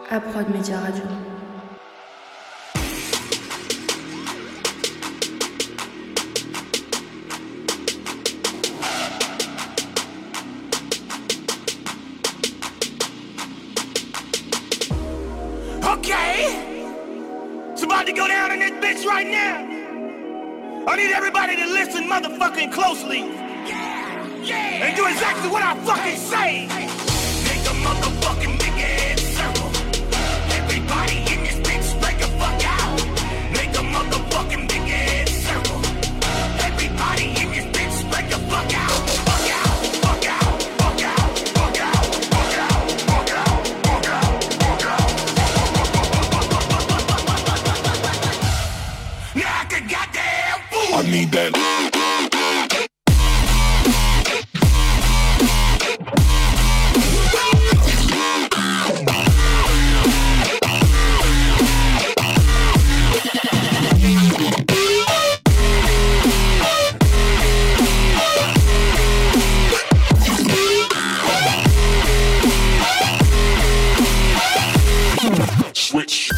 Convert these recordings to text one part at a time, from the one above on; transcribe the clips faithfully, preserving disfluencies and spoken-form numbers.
Aprod Media Radio. Okay, it's about to go down in this bitch right now. I need everybody to listen motherfucking closely. Yeah, yeah. And do exactly what I fucking say. Make a motherfucking big ass circle. Everybody in this bitch spread the fuck out. Make a motherfucking big ass circle. Everybody in this bitch spread the fuck out. Fuck out, fuck out, fuck out, fuck out, fuck out, fuck out, fuck out, fuck out. Now I can goddamn fool. I need that. Switch.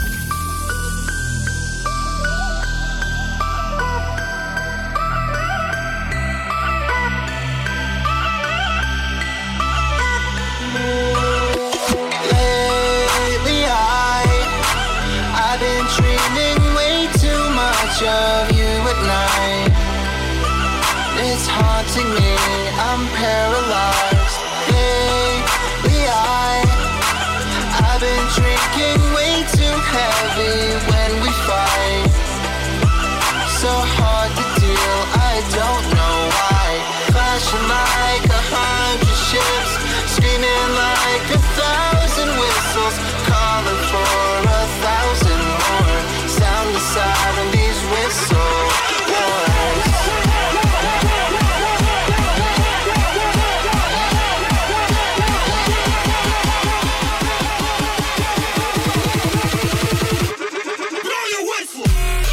Lately I, I've been dreaming way too much of you at night. It's haunting me, I'm paralyzed. Lately I, I've been drinking way too heavy when we fight. So hard to deal, I don't know why. Flashing like a hundred ships, screaming like a thousand whistles, calling for a thousand more. Sound the siren, these whistle boys. Blow your whistle.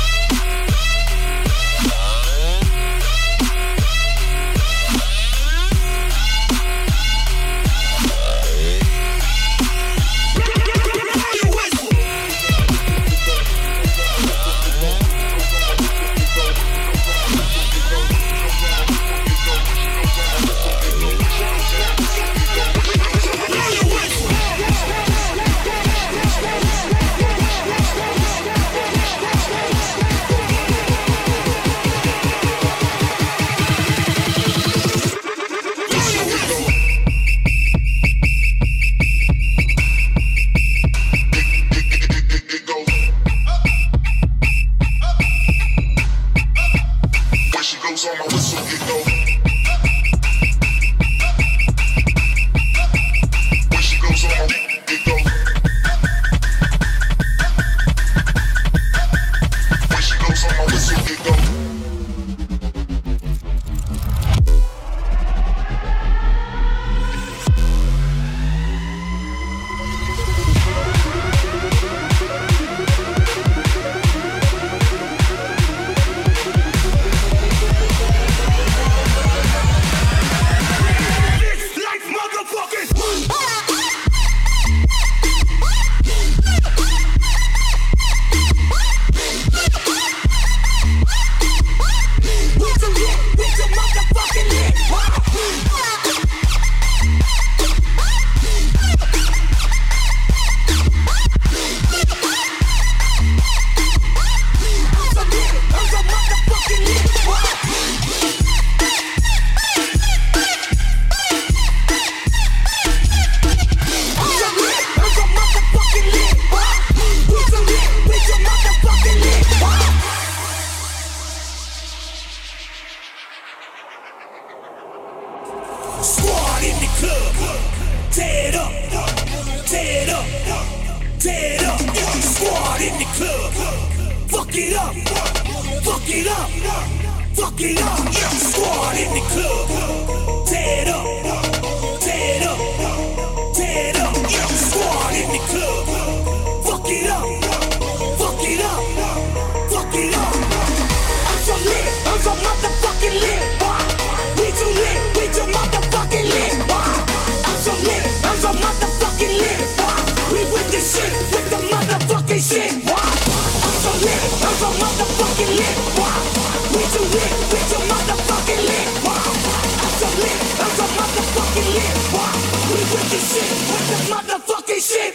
Blow your whistle. Blow your whistle. When she goes on my whistle, it go. When she goes on my it go. When she goes on my whistle, it go. This life, motherfuckers. What's a lit? What's a motherfucking lit? I'm so lit. I'm so motherfucking lit. I'm so lit. I'm so motherfucking lit. We so lit. We so motherfucking lit. Squad in the club, tear it up, tear it up, tear it up. Squad in the club, fuck it up, fuck it up, fuck it up. Squad in the club, tear it up, tear it up, tear it up. Squad in the club, fuck it up, fuck it up, fuck it up. I'm so lit, I'm so motherfucking lit. We too lit, we too motherfucking lit. I'm so lit, I'm so motherfucking lit. We with this shit with the motherfucking shit. I'm so lit, I'm so motherfucking lit. We too lit, we too motherfucking lit. I'm so lit, I'm so motherfucking lit. We with the shit with the motherfucking shit.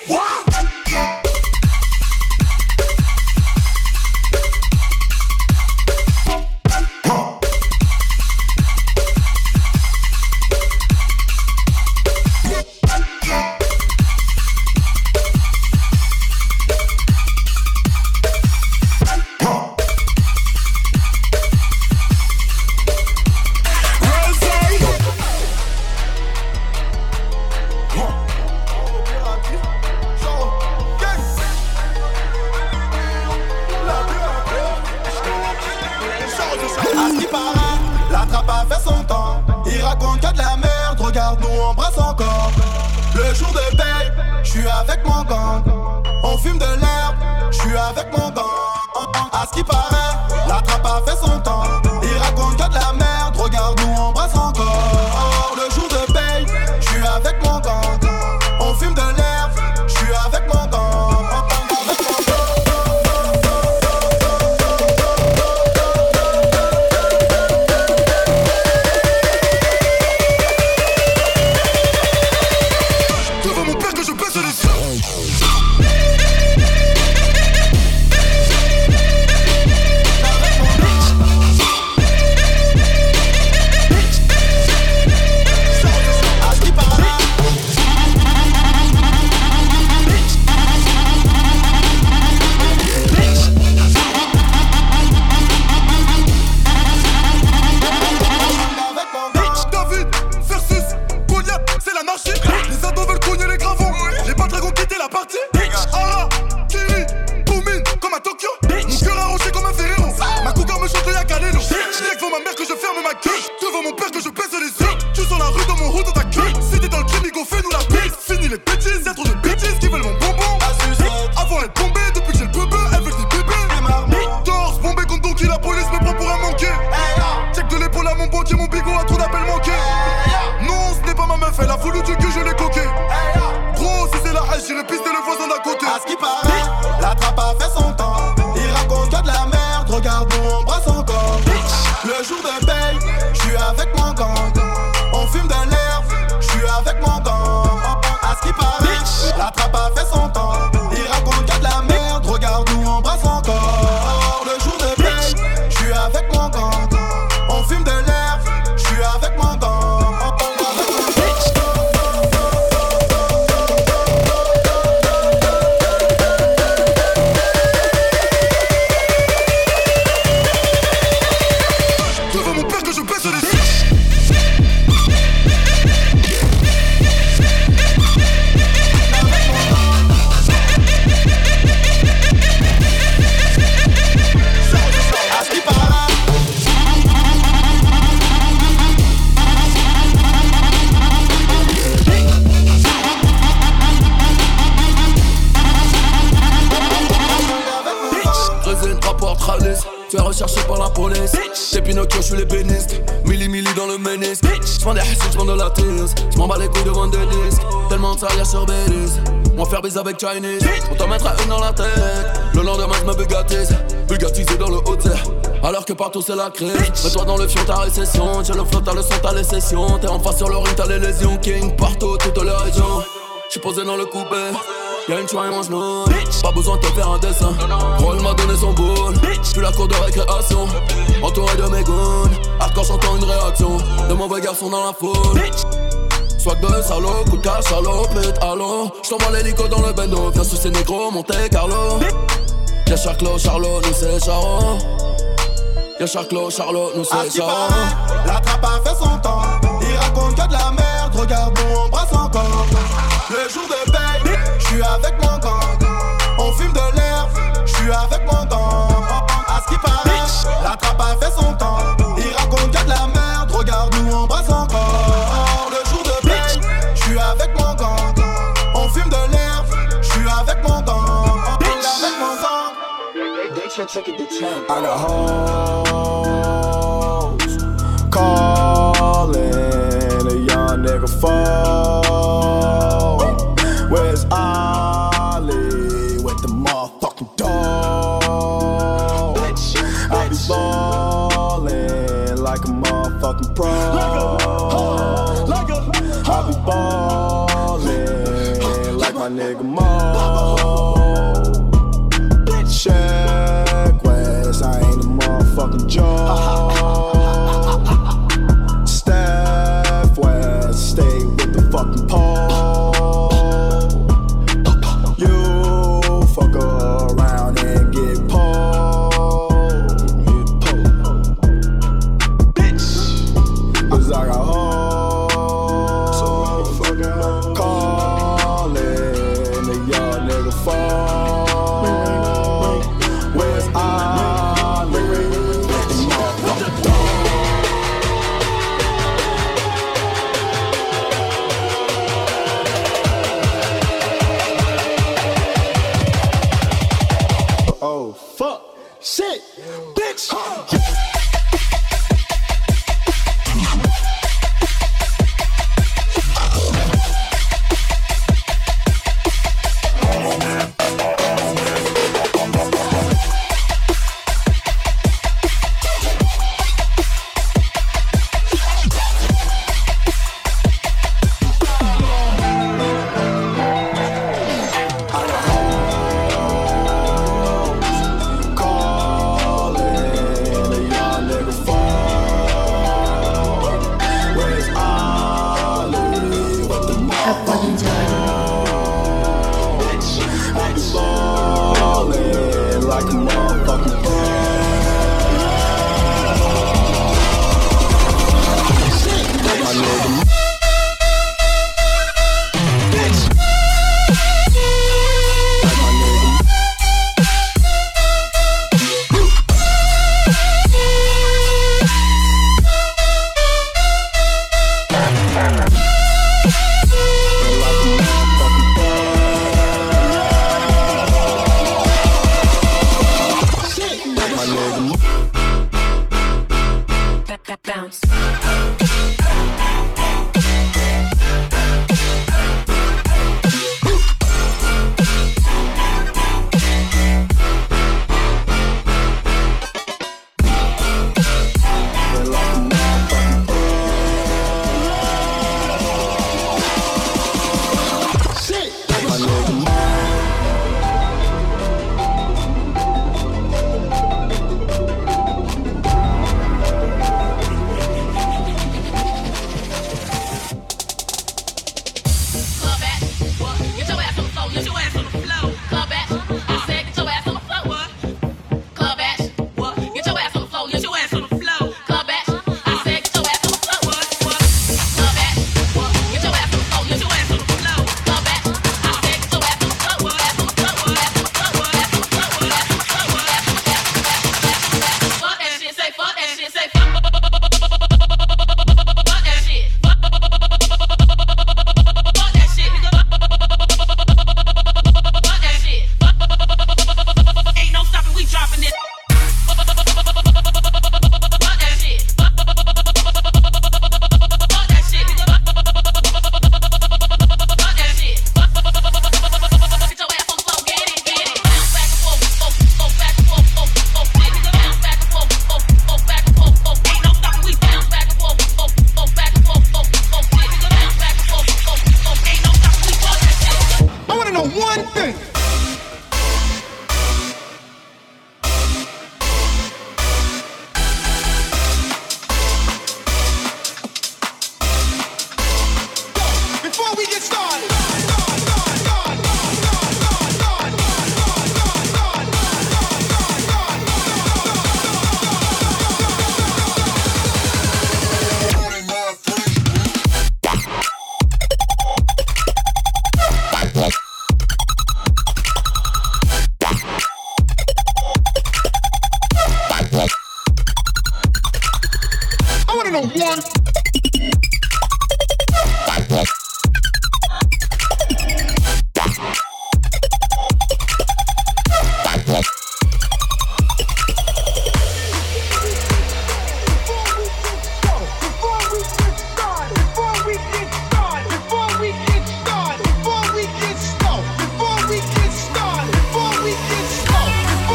Tu es recherché par la police. T'es Pinocchio, je suis l'ébéniste. Milli milli dans le ménisque. J'vends des hassides, j'vends de la tease. J'm'en bats les couilles de vendre des disques. Tellement de ça y'a sur Belize. Moi faire bise avec Chinese. On t'en mettra une dans la tête. Le lendemain j'me bugatise. Bugatisé dans le haut alors que partout c'est la crise. Mets-toi dans le fion, ta récession. J'ai le flow, t'as le son, t'as les sessions. T'es en face sur le ring, t'as les lésions. King partout, toutes les régions. J'suis posé dans le coupé. Y'a une choix et mange nous. Pas besoin de te faire un dessin. Roll m'a donné son boule. J'suis la cour de récréation. Entouré de mes goons. Hardcore j'entends une réaction. De mauvais garçons dans la foule. Swag de salaud, coup de cash, salaud, pute, allô. J't'envoie l'hélico dans le bendo. Viens sous ces négros, Monte Carlo. Y'a Charclo, Charlot, nous c'est Charo. Y'a Charclo, Charlot, nous c'est Charo. La trappe a fait son temps. Il raconte que de la merde. Regarde, nous on brasse encore. Le jour de paye, j'suis avec mon gang. On fume de l'herbe, j'suis avec mon gang. À ce qui paraît, la trappe a fait son temps. Il raconte que de la merde. Regarde, nous on brasse encore. Le jour de paye, j'suis avec mon gang. On fume de l'herbe, j'suis avec mon gang. Avec mon gang. I got hoes calling a young nigga phone. Where's Ollie? pro. I be ballin' like my nigga Mo. Check West, I ain't a motherfucking joke. Steph West, stay with the fucking pole. You fuck around and get pulled. Bitch, cause I got hoes. So motherfucking hoes. Callin' the young nigga phone.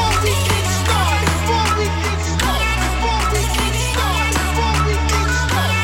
Before we get started,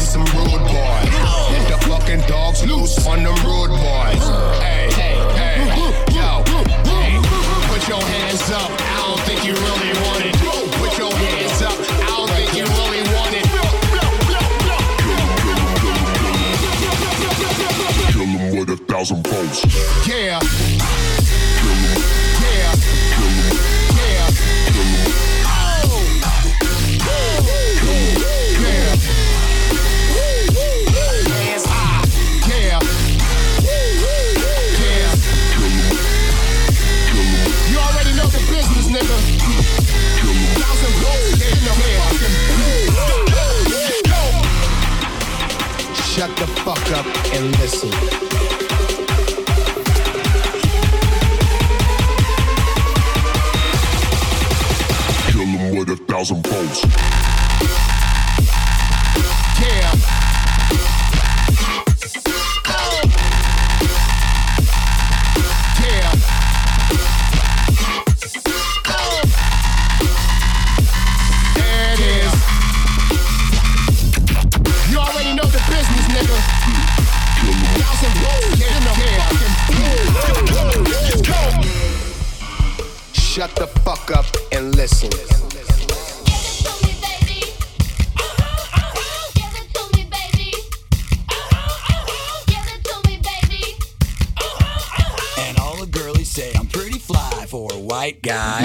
some rude boys. Let the fucking dogs loose on them rude boys. Hey, hey, hey, yo, hey, put your hands up. I don't think you really want it. Put your hands up. I don't think you really want it. Kill him with a thousand volts. Yeah. Yeah. Yeah. Oh. Yeah. Hands high. Yeah. Yeah. You already know the business, nigga. Thousand volts in the head. Shut the fuck up and listen. With a thousand volts. Yeah. Oh. Yeah. Oh. There it is. You already know the business, nigga. Thousand volts in the head. Shut the fuck up and listen. For a white guy.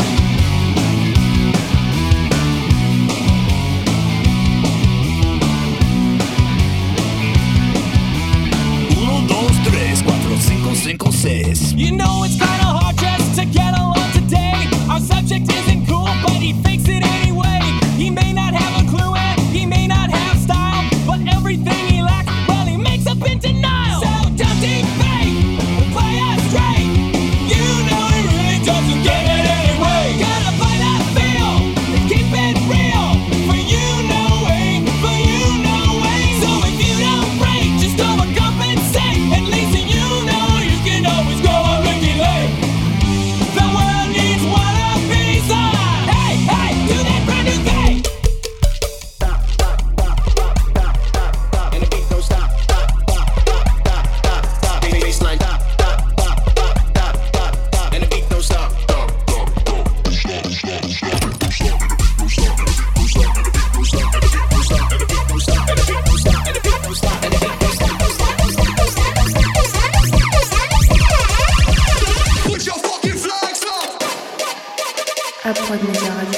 Uno, dos, tres, cuatro, cinco, cinco, seis. You know it's kinda hard just to get along today. Our subject isn't cool, but he fakes it anyway. He may not have a clue and he may not have style, but everything he lacks, well, he makes up in denial. So don't deep fake, play us straight. You know he really doesn't get it anyway. Gotta play that feel and keep it real. For you, no way, for you, no way. So if you don't break, just overcompensate. At least you know you can always go on Ricky Lake. The world needs one of these. Hey, hey, do that brand new thing. Stop, stop, stop, stop, stop, stop, stop. And the beat don't stop. Stop, stop, stop, stop, stop, stop. Baseline, stop, stop, stop, stop, stop, stop, stop. And the beat don't stop. Put your fucking flags up. Approd Média Radio.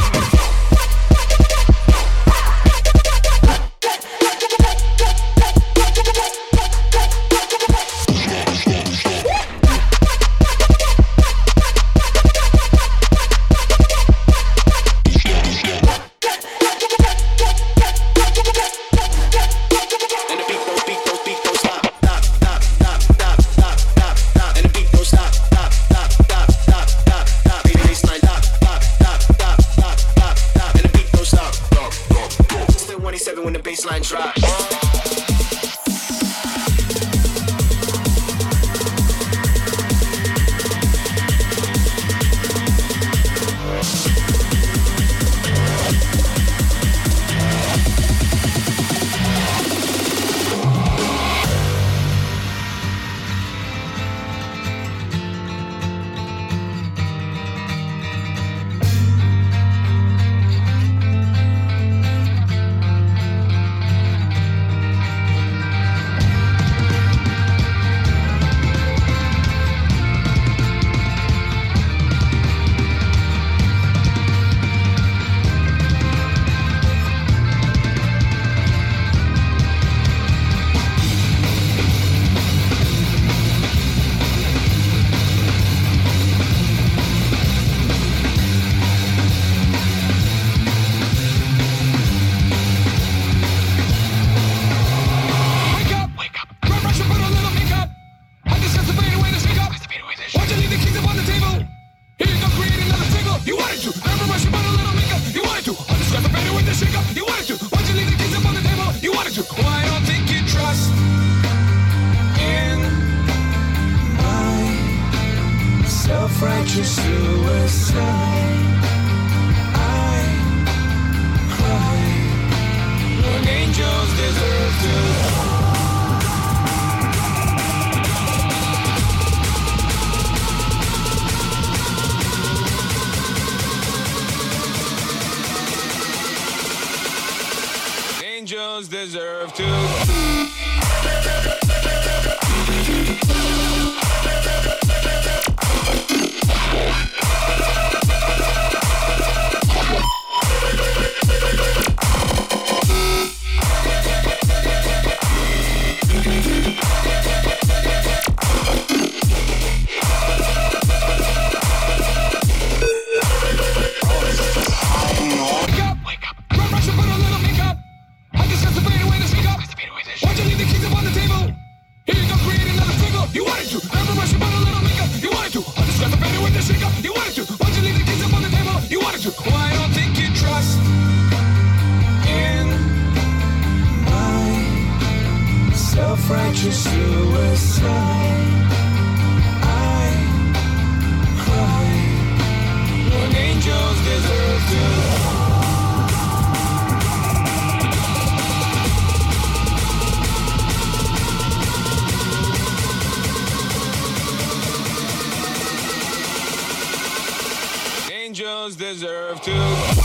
And the beat don't, beat don't, beat don't stop. Stop, stop, stop, stop, stop, stop, stop. And the beat don't stop. Stop, stop, stop, stop, stop, stop. Baseline, stop, stop, stop, stop, stop, stop, stop. And the beat don't stop. Still one eighty-seven when the baseline drops. self-righteous suicide. I cry when angels Angels deserve to. Self-righteous suicide. I cry when angels deserve to. Angels deserve to.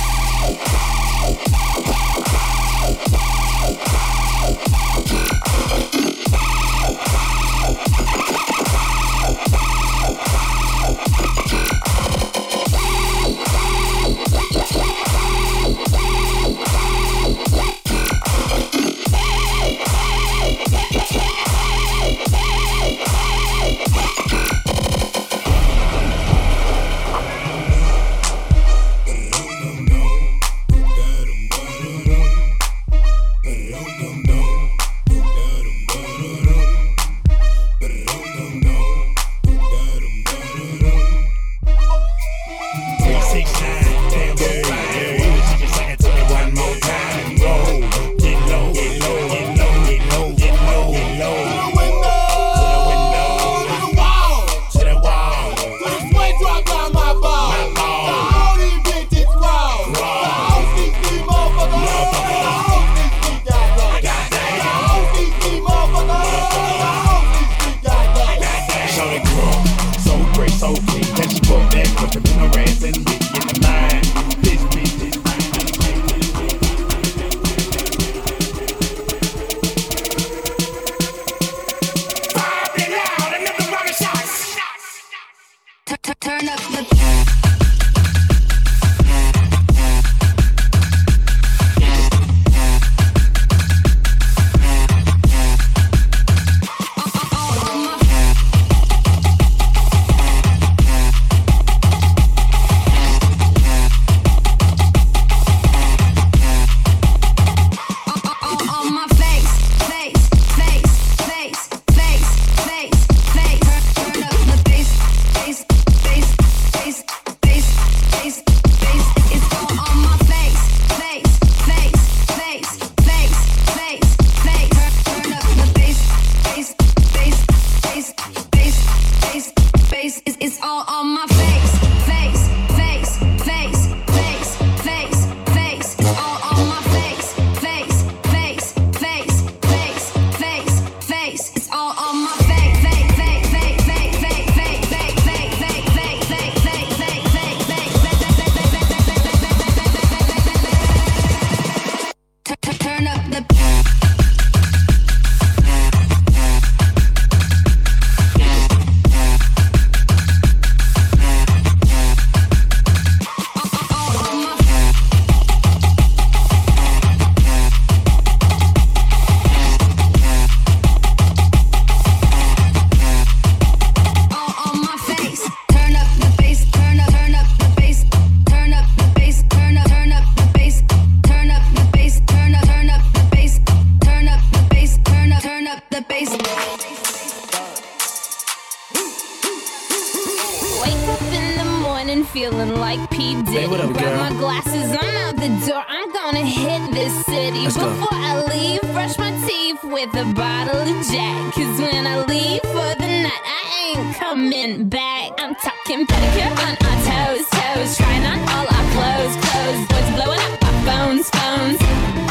Feeling like P. Diddy. Hey, what up, Grab girl? my glasses, I'm out the door. I'm gonna hit this city. Let's go. Before I leave, brush my teeth with a bottle of Jack. Cause when I leave for the night, I ain't coming back. I'm talking pedicure on our toes, toes. Trying on all our clothes, clothes. Boys blowing up our phones, phones.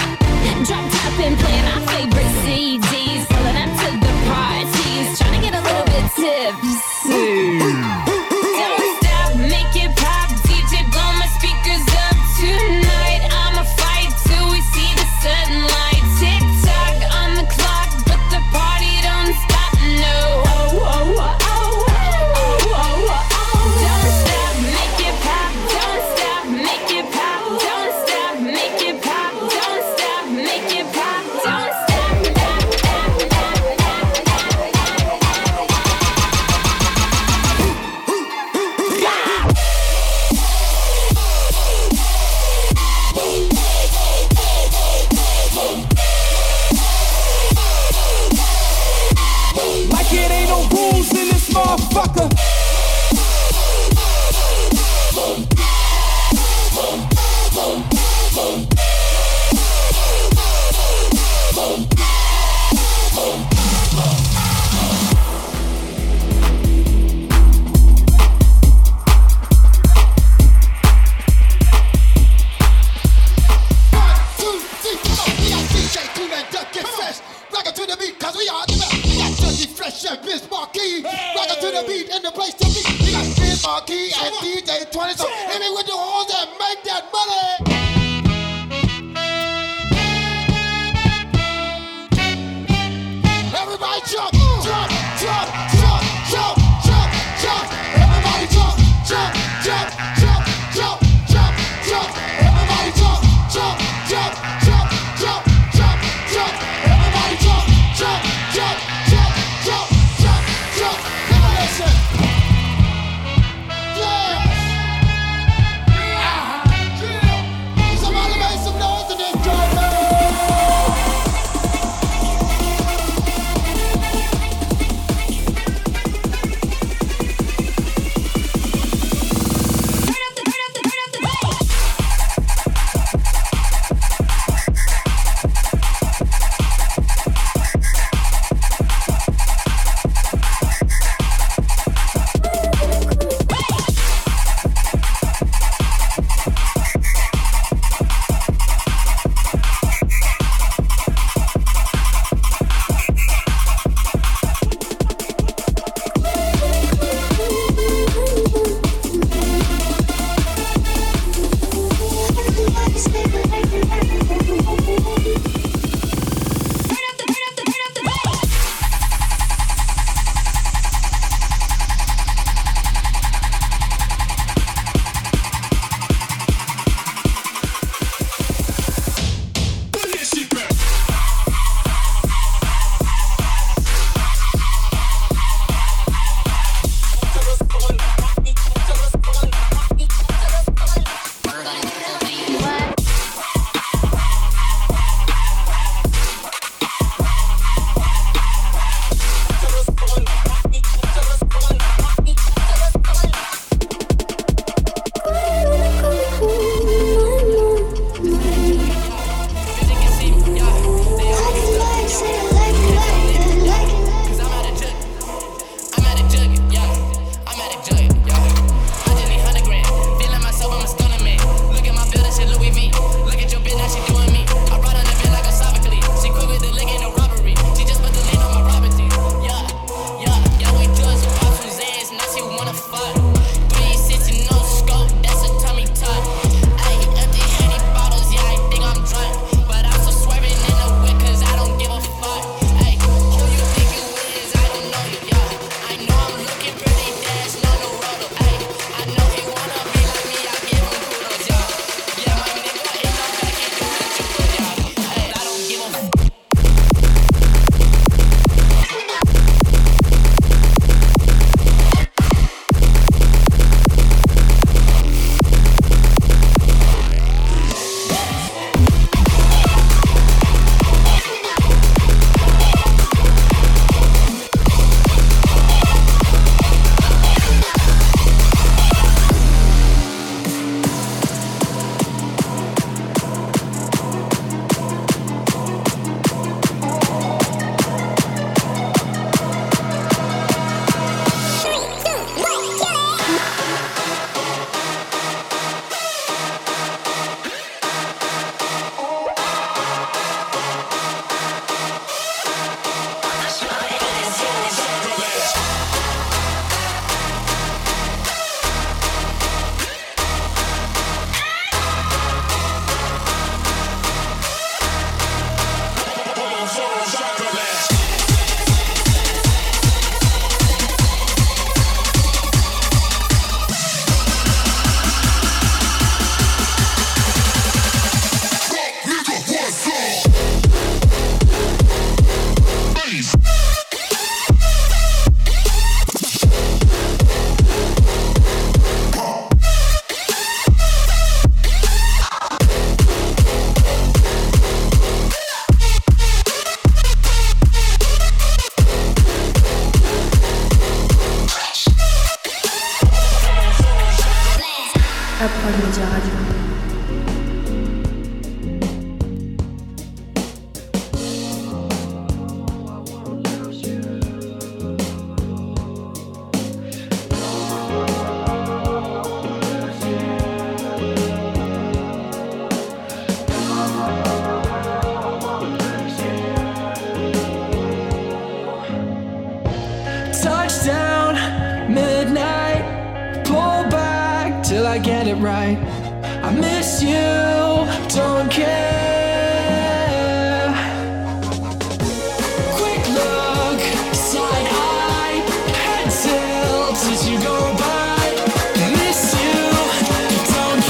Drop top and playing our favorite C Ds. Pulling up to the parties. Trying to get a little bit tipsy. Tonight, I'ma fight till we see the sunlight. best. Rock it to the beat, cause we are the best. We got Judgy Fresh and Biz Marquee. Rock it to the beat and the place to be. We got Biz Marquee and D J twenty. So hit me with the horns and make that money. Everybody jump, jump, jump, jump, jump, jump, jump. Everybody jump, jump, jump, jump, jump, jump, jump. Everybody jump, jump, jump, jump, jump, jump, jump. Everybody jump, jump, jump, jump, jump, jump, jump. Let me listen. Yeah. Yeah. Somebody make some noise in this drum, man. Média Radio. right. I miss you, don't care. Quick look, side eye, head tilt as you go by. Miss you, don't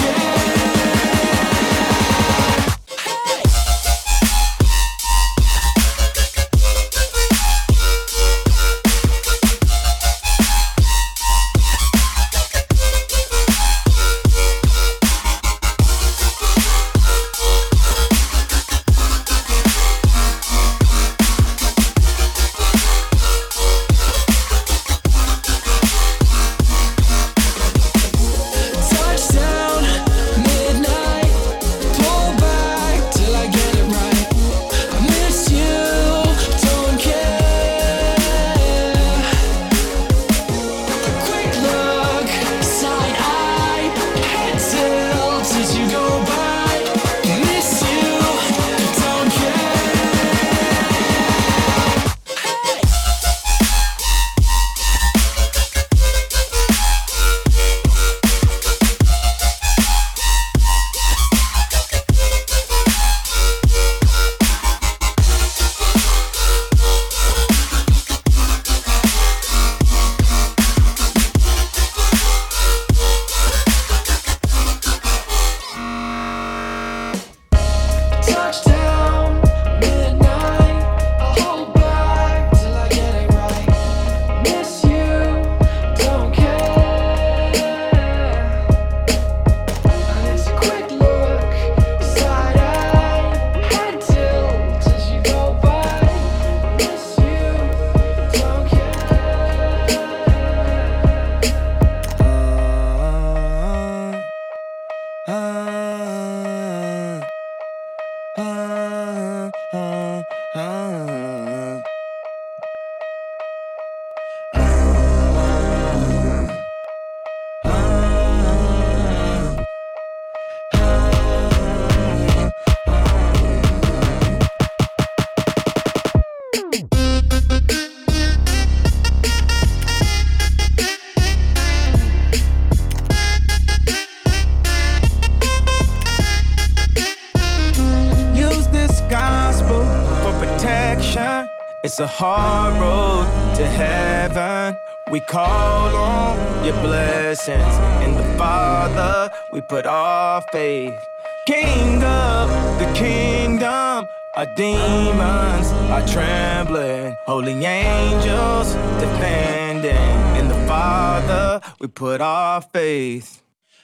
It's a hard road to heaven. We call on your blessings. In the Father, we put our faith. King of the kingdom, our demons are trembling. Holy angels defending. In the Father, we put our faith.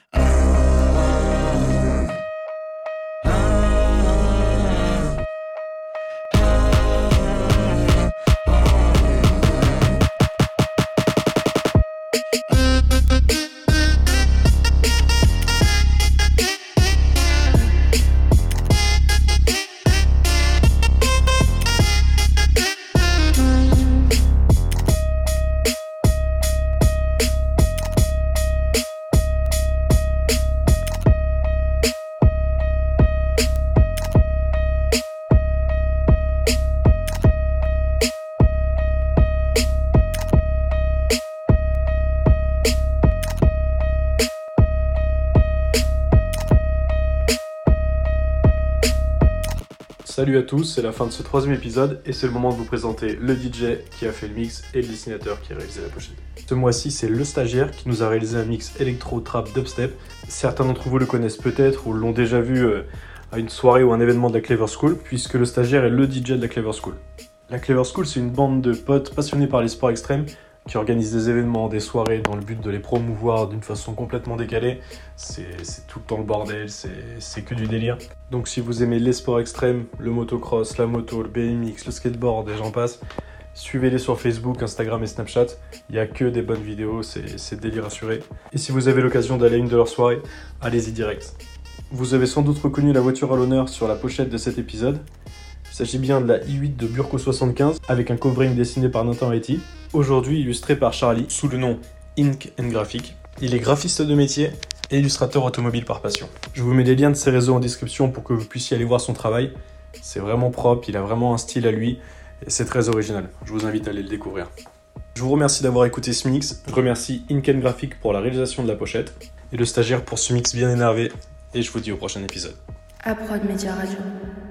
Salut à tous, c'est la fin de ce troisième épisode et c'est le moment de vous présenter le D J qui a fait le mix et le dessinateur qui a réalisé la pochette. Ce mois-ci, c'est le stagiaire qui nous a réalisé un mix électro, trap, dubstep. Certains d'entre vous le connaissent peut-être ou l'ont déjà vu euh, à une soirée ou un événement de la Clever School, puisque le stagiaire est le D J de la Clever School. La Clever School, c'est une bande de potes passionnés par les sports extrêmes qui organisent des événements, des soirées dans le but de les promouvoir d'une façon complètement décalée. C'est, c'est tout le temps le bordel, c'est, c'est que du délire. Donc si vous aimez les sports extrêmes, le motocross, la moto, le B M X, le skateboard et j'en passe, suivez-les sur Facebook, Instagram et Snapchat. Il n'y a que des bonnes vidéos, c'est, c'est délire assuré. Et si vous avez l'occasion d'aller à une de leurs soirées, allez-y direct. Vous avez sans doute reconnu la voiture à l'honneur sur la pochette de cet épisode. Il s'agit bien de la i huit de Burco soixante-quinze avec un covering dessiné par Nathan Haiti, aujourd'hui illustré par Charlie sous le nom Ink and Graphic. Il est graphiste de métier et illustrateur automobile par passion. Je vous mets les liens de ses réseaux en description pour que vous puissiez aller voir son travail. C'est vraiment propre, il a vraiment un style à lui et c'est très original. Je vous invite à aller le découvrir. Je vous remercie d'avoir écouté ce mix. Je remercie Inken Graphic pour la réalisation de la pochette et le stagiaire pour ce mix bien énervé. Et je vous dis au prochain épisode. Aprod Media Radio.